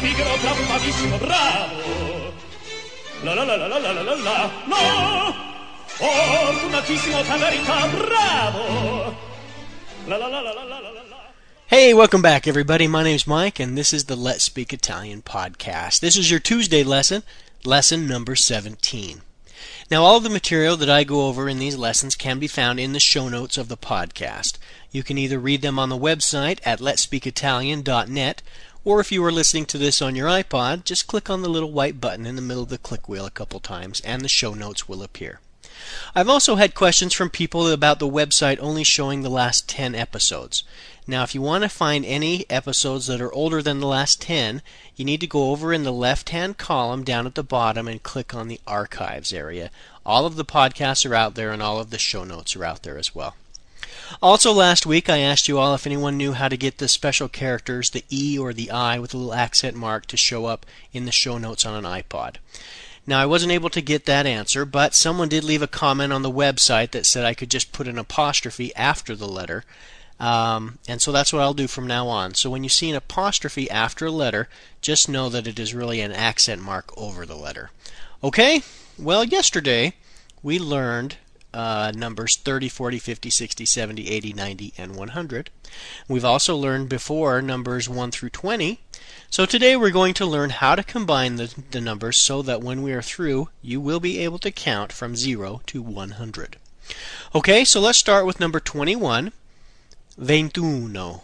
pigro bravissimo, bravo. La la la la la la la la la. No! Fortunatissimo, per verità, bravo. La la la la la la la la. Hey, welcome back, everybody. My name's Mike, and this is the Let's Speak Italian podcast. This is your Tuesday lesson, lesson number 17. Now, all of the material that I go over in these lessons can be found in the show notes of the podcast. You can either read them on the website at letspeakitalian.net, or if you are listening to this on your iPod, just click on the little white button in the middle of the click wheel a couple times, and the show notes will appear. I've also had questions from people about the website only showing the last 10 episodes. Now, if you want to find any episodes that are older than the last 10, you need to go over in the left-hand column down at the bottom and click on the archives area. All of the podcasts are out there, and all of the show notes are out there as well. Also, last week I asked you all if anyone knew how to get the special characters, the E or the I with a little accent mark, to show up in the show notes on an iPod. Now, I wasn't able to get that answer, but someone did leave a comment on the website that said I could just put an apostrophe after the letter. And so that's what I'll do from now on. So when you see an apostrophe after a letter, just know that it is really an accent mark over the letter. Okay? Well, yesterday we learned numbers 30, 40, 50, 60, 70, 80, 90, and 100. We've also learned before numbers 1 through 20. So today we're going to learn how to combine the numbers so that when we are through, you will be able to count from 0 to 100. Okay, so let's start with number 21. 21,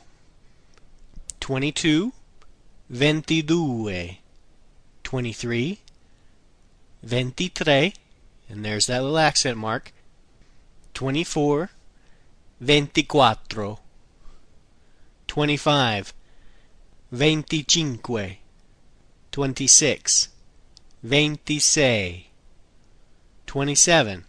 22, 22, 23, 23, and there's that little accent mark, 24, 24, 25, 25, 26, 26, 27,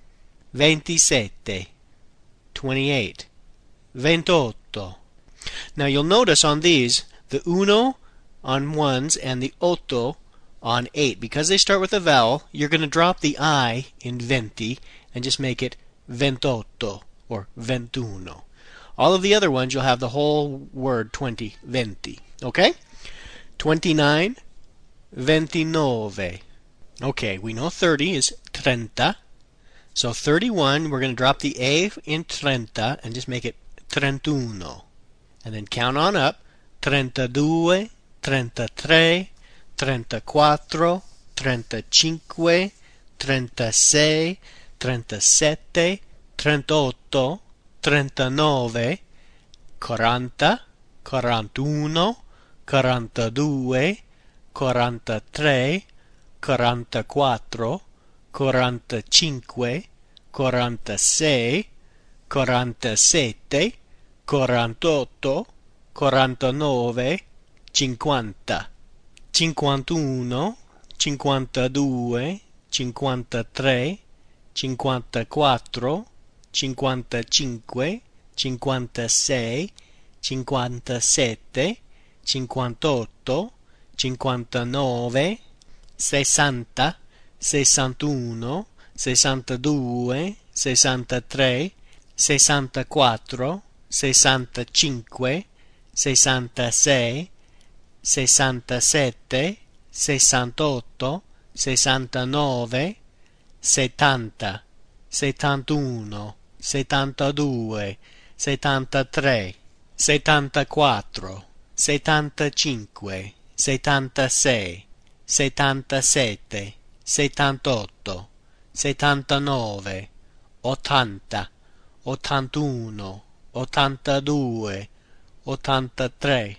27, 28, 28. Now you'll notice on these, the uno on ones and the otto on 8. Because they start with a vowel, you're going to drop the I in 20 and just make it 28 or 21. All of the other ones, you'll have the whole word 20, 20. Okay? 29, 29. Okay, we know 30 is 30. So 31, we're going to drop the A in 30 and just make it 31. And then count on up. 32, 33, 34, 35, 36, 37, 38, 39, 40, 41, 42, 43, 44, 45, 46, 47, 48, 49, 50, 51, 52, 53, 54, 55, 56, 57, 58, 59, 60, 61, 62, 63, 64, 65, 66, 67, 68, 69, 70, 71, 72, 73, 74, 75, 76, 77, 78, 79, 80, 81, 82, 83,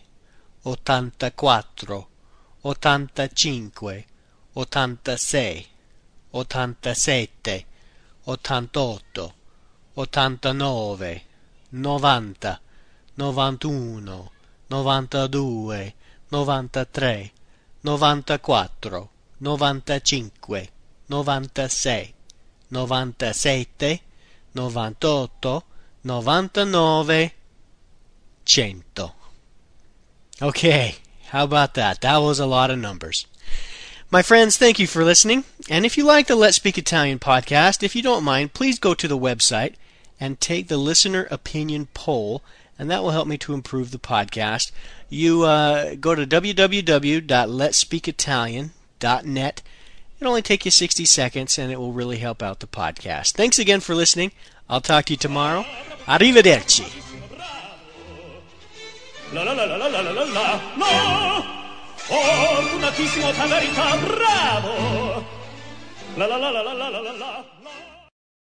84, 85, 86, 87, 88, 89, 90, 91, 92, 93, 94, 95, 96, 97, 98, 99, 100. Okay, how about that? That was a lot of numbers. My friends, thank you for listening. And if you like the Let's Speak Italian podcast, if you don't mind, please go to the website and take the listener opinion poll and that will help me to improve the podcast. You go to www.letspeakitalian.net. It'll only take you 60 seconds, and it will really help out the podcast. Thanks again for listening. I'll talk to you tomorrow. Arrivederci. La la la la la la la la. No! Fortunatissimo Tagarita, bravo! La la la la la la la la.